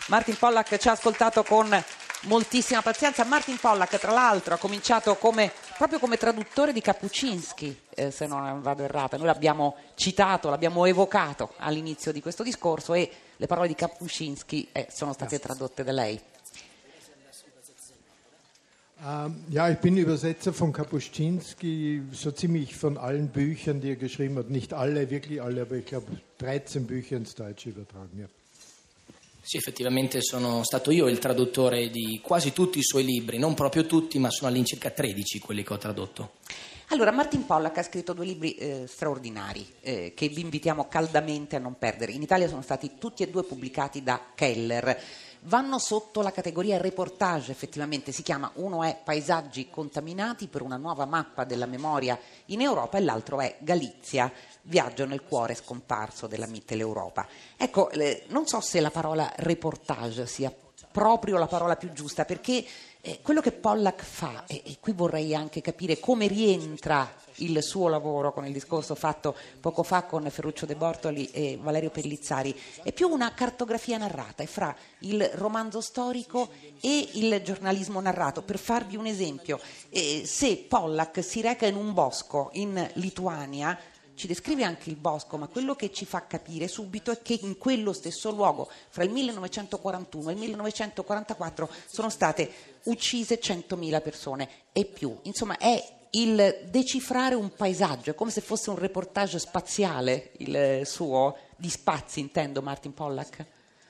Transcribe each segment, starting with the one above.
Martin Pollack ci ha ascoltato con moltissima pazienza. Martin Pollack, tra l'altro, ha cominciato proprio come traduttore di Kapuscinski, se non vado errata. Noi l'abbiamo citato, l'abbiamo evocato all'inizio di questo discorso e le parole di Kapuscinski sono state tradotte da lei. Ja, ich bin Übersetzer von Kapuscinski, so ziemlich von allen Büchern, die er geschrieben hat. Nicht alle, wirklich alle, aber ich glaube 13 Bücher ins Deutsche übertragen. Ja. Sì, effettivamente sono stato io il traduttore di quasi tutti i suoi libri, non proprio tutti, ma sono all'incirca 13 quelli che ho tradotto. Allora, Martin Pollack ha scritto 2 libri straordinari che vi invitiamo caldamente a non perdere. In Italia sono stati tutti e 2 pubblicati da Keller. Vanno sotto la categoria reportage, effettivamente si chiama, uno è Paesaggi contaminati per una nuova mappa della memoria in Europa e l'altro è Galizia, viaggio nel cuore scomparso della Mitteleuropa. Ecco, non so se la parola reportage sia proprio la parola più giusta, perché quello che Pollack fa, e qui vorrei anche capire come rientra il suo lavoro con il discorso fatto poco fa con Ferruccio De Bortoli e Valerio Pellizzari, è più una cartografia narrata, è fra il romanzo storico e il giornalismo narrato. Per farvi un esempio, se Pollack si reca in un bosco in Lituania, ci descrive anche il bosco, ma quello che ci fa capire subito è che in quello stesso luogo, fra il 1941 e il 1944, sono state uccise 100.000 persone e più. Insomma, è il decifrare un paesaggio, è come se fosse un reportage spaziale, il suo, di spazi, intendo, Martin Pollack.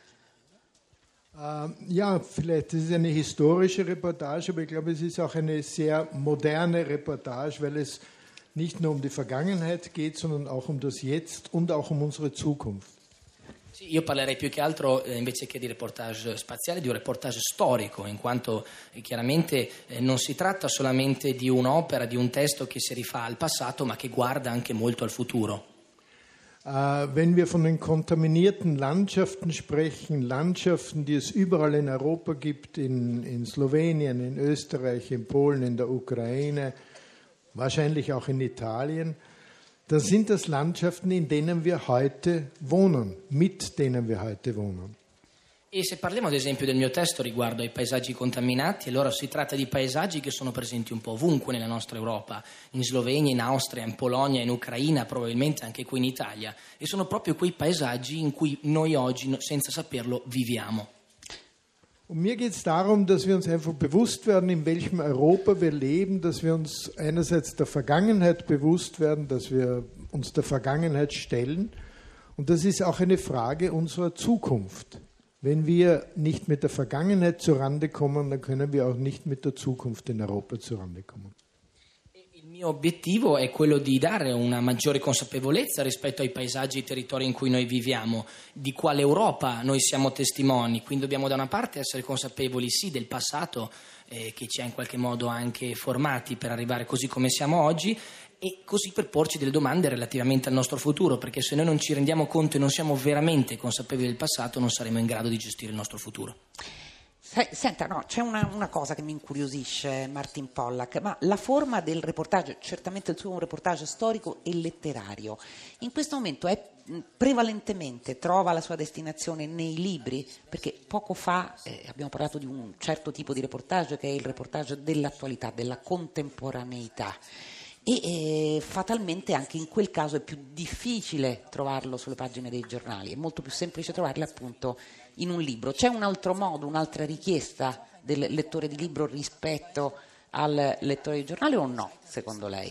Ja, vielleicht ist es eine historische Reportage, aber ich glaube, es ist auch eine sehr moderne Reportage, weil es nicht nur um die Vergangenheit geht, sondern auch um das Jetzt und auch um unsere Zukunft. Sì, io parlerei più che altro, invece che di reportage spaziale, di un reportage storico, in quanto chiaramente non si tratta solamente di un'opera, di un testo che si rifà al passato, ma che guarda anche molto al futuro. Wenn wir von den kontaminierten Landschaften sprechen, Landschaften, die es überall in Europa gibt, in Slowenien, in Österreich, in Polen, in der Ukraine, wahrscheinlich auch in Italien, dann sind das Landschaften, in denen wir heute wohnen, mit denen wir heute wohnen. E se parliamo ad esempio del mio testo riguardo ai paesaggi contaminati, allora si tratta di paesaggi che sono presenti un po' ovunque nella nostra Europa, in Slovenia, in Austria, in Polonia, in Ucraina, probabilmente anche qui in Italia, e sono proprio quei paesaggi in cui noi oggi, senza saperlo, viviamo. Und mir geht es darum, dass wir uns einfach bewusst werden, in welchem Europa wir leben, dass wir uns einerseits der Vergangenheit bewusst werden, dass wir uns der Vergangenheit stellen. Und das ist auch eine Frage unserer Zukunft. Wenn wir nicht mit der Vergangenheit zurande kommen, dann können wir auch nicht mit der Zukunft in Europa zurande kommen. Il mio obiettivo è quello di dare una maggiore consapevolezza rispetto ai paesaggi e ai territori in cui noi viviamo, di quale Europa noi siamo testimoni, quindi dobbiamo da una parte essere consapevoli sì del passato che ci ha in qualche modo anche formati per arrivare così come siamo oggi e così per porci delle domande relativamente al nostro futuro, perché se noi non ci rendiamo conto e non siamo veramente consapevoli del passato non saremo in grado di gestire il nostro futuro. Senta, no, c'è una cosa che mi incuriosisce, Martin Pollack, ma la forma del reportage, certamente il suo è un reportage storico e letterario, in questo momento è prevalentemente, trova la sua destinazione nei libri, perché poco fa abbiamo parlato di un certo tipo di reportage che è il reportage dell'attualità, della contemporaneità. E fatalmente anche in quel caso è più difficile trovarlo sulle pagine dei giornali, è molto più semplice trovarle appunto in un libro. C'è un altro modo, un'altra richiesta del lettore di libro rispetto al lettore di giornale o no, secondo lei?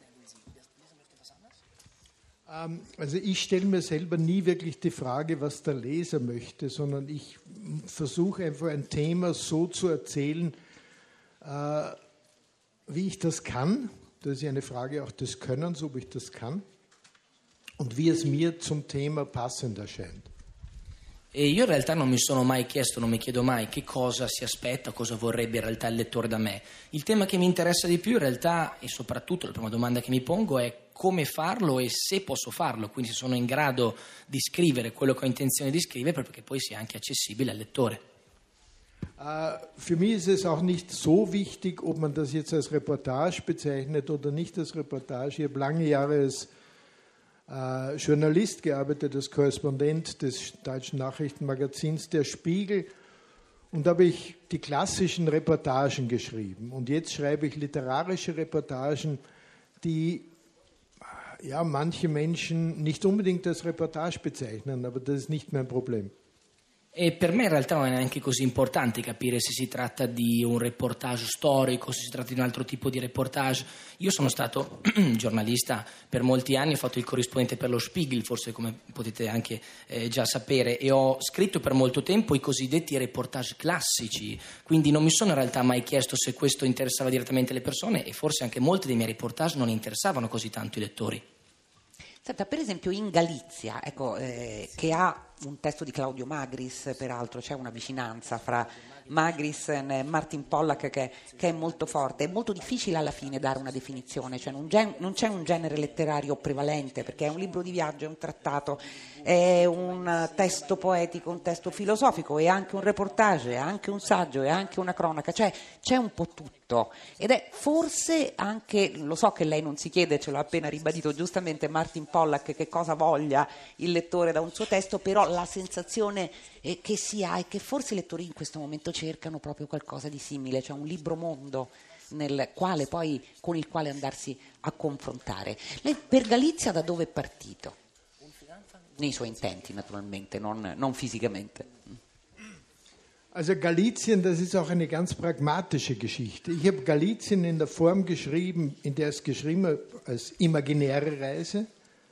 Also ich stelle mir selber nie wirklich die Frage, was der Leser möchte, sondern ich versuche einfach ein Thema so zu erzählen, wie ich das kann. Das ist eine Frage auch des Könnens, ob ich das kann und wie es mir zum Thema passend erscheint. E io in realtà non mi sono mai chiesto, non mi chiedo mai che cosa si aspetta, cosa vorrebbe in realtà il lettore da me. Il tema che mi interessa di più in realtà, e soprattutto la prima domanda che mi pongo è come farlo e se posso farlo, quindi se sono in grado di scrivere quello che ho intenzione di scrivere, proprio perché poi sia anche accessibile al lettore. Für mich ist es auch nicht so wichtig, ob man das jetzt als Reportage bezeichnet oder nicht als Reportage. Ich habe lange Jahre als Journalist gearbeitet, als Korrespondent des deutschen Nachrichtenmagazins Der Spiegel. Und da habe ich die klassischen Reportagen geschrieben. Und jetzt schreibe ich literarische Reportagen, die manche Menschen nicht unbedingt als Reportage bezeichnen, aber das ist nicht mein Problem. E per me in realtà non è neanche così importante capire se si tratta di un reportage storico, se si tratta di un altro tipo di reportage. Io sono stato giornalista per molti anni, ho fatto il corrispondente per lo Spiegel, forse come potete anche già sapere, e ho scritto per molto tempo i cosiddetti reportage classici, quindi non mi sono in realtà mai chiesto se questo interessava direttamente le persone, e forse anche molti dei miei reportage non interessavano così tanto i lettori. Senta, per esempio in Galizia, che ha un testo di Claudio Magris, peraltro c'è una vicinanza fra Magris e Martin Pollack che è molto forte. È molto difficile alla fine dare una definizione, cioè non c'è un genere letterario prevalente, perché è un libro di viaggio, è un trattato, è un testo poetico, un testo filosofico, è anche un reportage, è anche un saggio, è anche una cronaca, cioè c'è un po' tutto. Ed è forse anche, lo so che lei non si chiede, ce l'ha appena ribadito giustamente Martin Pollack, che cosa voglia il lettore da un suo testo, però la sensazione che si ha è che forse i lettori in questo momento cercano proprio qualcosa di simile, cioè un libro mondo con il quale andarsi a confrontare. Lei per Galizia da dove è partito? Nei suoi intenti naturalmente, non fisicamente. Also Galizien, das ist auch eine ganz pragmatische Geschichte. Ich habe Galizien in der Form geschrieben, in der es geschrieben als imaginäre Reise,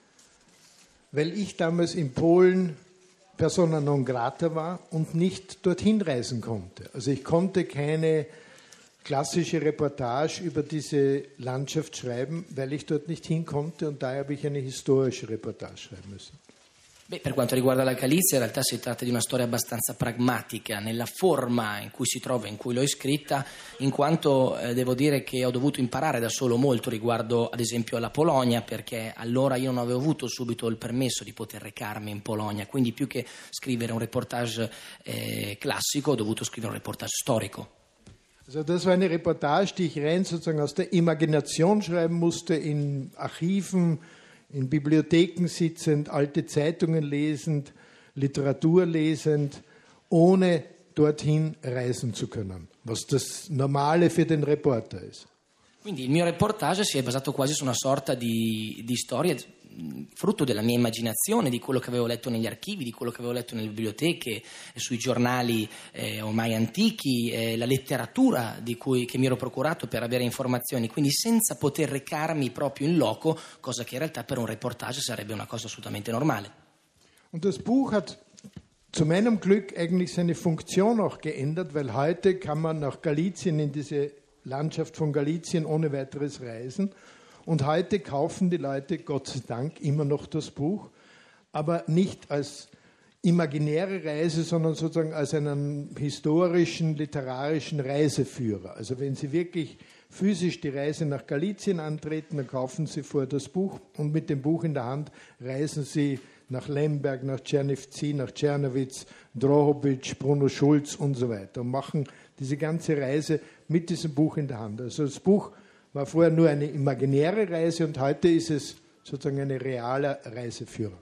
weil ich damals in Polen persona non grata war und nicht dorthin reisen konnte. Also ich konnte keine klassische Reportage über diese Landschaft schreiben, weil ich dort nicht hin konnte, und daher habe ich eine historische Reportage schreiben müssen. Per quanto riguarda la Galizia, in realtà si tratta di una storia abbastanza pragmatica nella forma in cui si trova, in cui l'ho scritta, in quanto devo dire che ho dovuto imparare da solo molto riguardo ad esempio alla Polonia, perché allora io non avevo avuto subito il permesso di poter recarmi in Polonia, quindi più che scrivere un reportage classico ho dovuto scrivere un reportage storico. Also das war eine Reportage, die ich rein sozusagen aus der Imagination schreiben musste, in Archiven, in Bibliotheken sitzend, alte Zeitungen lesend, Literatur lesend, ohne dorthin reisen zu können, was das Normale für den Reporter ist. Quindi il mio reportage si è basato quasi su una sorta di storia frutto della mia immaginazione, di quello che avevo letto negli archivi, di quello che avevo letto nelle biblioteche, sui giornali ormai antichi, la letteratura che mi ero procurato per avere informazioni, quindi senza poter recarmi proprio in loco, cosa che in realtà per un reportage sarebbe una cosa assolutamente normale. Und das Buch hat zu meinem Glück eigentlich seine Funktion auch geändert, weil heute kann man nach Galizien, in diese Landschaft von Galizien ohne weiteres reisen. Und heute kaufen die Leute, Gott sei Dank, immer noch das Buch, aber nicht als imaginäre Reise, sondern sozusagen als einen historischen, literarischen Reiseführer. Also wenn Sie wirklich physisch die Reise nach Galizien antreten, dann kaufen Sie vorher das Buch und mit dem Buch in der Hand reisen Sie nach Lemberg, nach Czernivtsi, nach Czernowitz, Drohobitsch, Bruno Schulz und so weiter und machen diese ganze Reise mit diesem Buch in der Hand. Also das Buch war vorher nur eine imaginäre Reise und heute ist es sozusagen ein realer Reiseführer.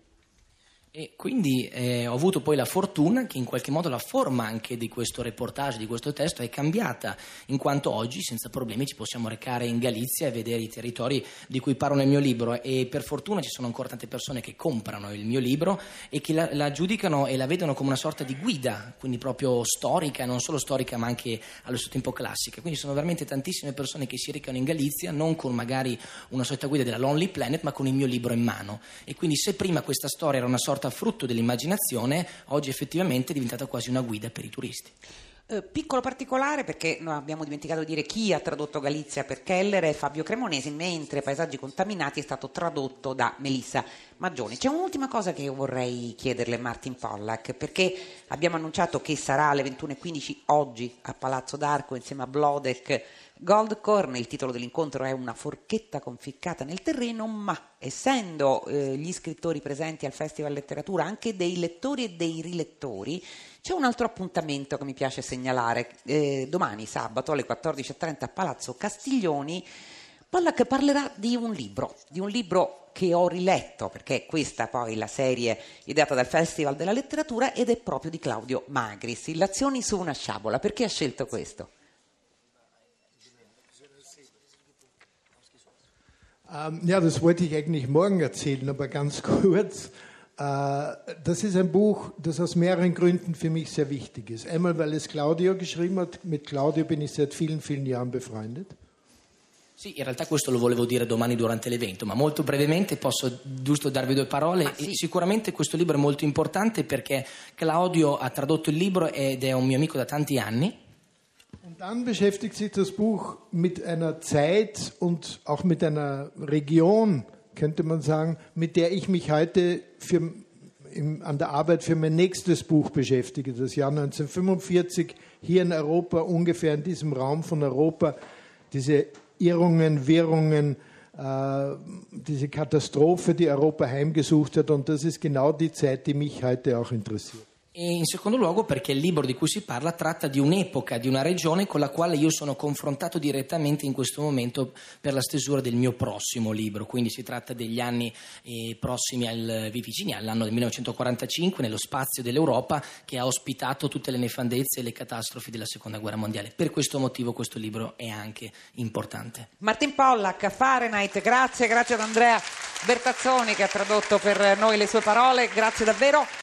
E quindi ho avuto poi la fortuna che in qualche modo la forma anche di questo reportage, di questo testo è cambiata, in quanto oggi senza problemi ci possiamo recare in Galizia e vedere i territori di cui parlo nel mio libro, e per fortuna ci sono ancora tante persone che comprano il mio libro e che la giudicano e la vedono come una sorta di guida, quindi proprio storica, non solo storica ma anche allo stesso tempo classica. Quindi sono veramente tantissime persone che si recano in Galizia non con magari una solita guida della Lonely Planet ma con il mio libro in mano, e quindi se prima questa storia era una sorta frutto dell'immaginazione, oggi effettivamente è diventata quasi una guida per i turisti. Piccolo particolare, perché noi abbiamo dimenticato di dire chi ha tradotto Galizia per Keller è Fabio Cremonesi, mentre Paesaggi contaminati è stato tradotto da Melissa Maggioni. C'è un'ultima cosa che io vorrei chiederle, Martin Pollack, perché abbiamo annunciato che sarà alle 21:15 oggi a Palazzo d'Arco insieme a Blodek Goldkorn. Il titolo dell'incontro è Una forchetta conficcata nel terreno, ma essendo gli scrittori presenti al Festival Letteratura anche dei lettori e dei rilettori, c'è un altro appuntamento che mi piace segnalare. Domani sabato alle 14:30 a Palazzo Castiglioni Pollack parlerà di un libro che ho riletto, perché questa poi la serie ideata dal Festival della Letteratura, ed è proprio di Claudio Magris, Illazioni su una sciabola. Perché ha scelto questo? Ja, das wollte ich eigentlich morgen erzählen, aber ganz kurz. Das ist ein Buch, das aus mehreren Gründen für mich sehr wichtig ist. Einmal, weil es Claudio geschrieben hat. Mit Claudio bin ich seit vielen, vielen Jahren befreundet. Sì, in realtà questo lo volevo dire domani durante l'evento, ma molto brevemente posso giusto darvi due parole. Sì. Sicuramente questo libro è molto importante perché Claudio ha tradotto il libro ed è un mio amico da tanti anni. Und dann beschäftigt sich das Buch mit einer Zeit und auch mit einer Region, könnte man sagen, mit der ich mich heute an der Arbeit für mein nächstes Buch beschäftige. Das Jahr 1945, hier in Europa, ungefähr in diesem Raum von Europa, diese Irrungen, Wirrungen, diese Katastrophe, die Europa heimgesucht hat. Und das ist genau die Zeit, die mich heute auch interessiert. E in secondo luogo perché il libro di cui si parla tratta di un'epoca, di una regione con la quale io sono confrontato direttamente in questo momento per la stesura del mio prossimo libro, quindi si tratta degli anni prossimi vicini all'anno del 1945, nello spazio dell'Europa che ha ospitato tutte le nefandezze e le catastrofi della Seconda Guerra Mondiale. Per questo motivo questo libro è anche importante. Martin Pollack, Fahrenheit, grazie ad Andrea Bertazzoni che ha tradotto per noi le sue parole, grazie davvero.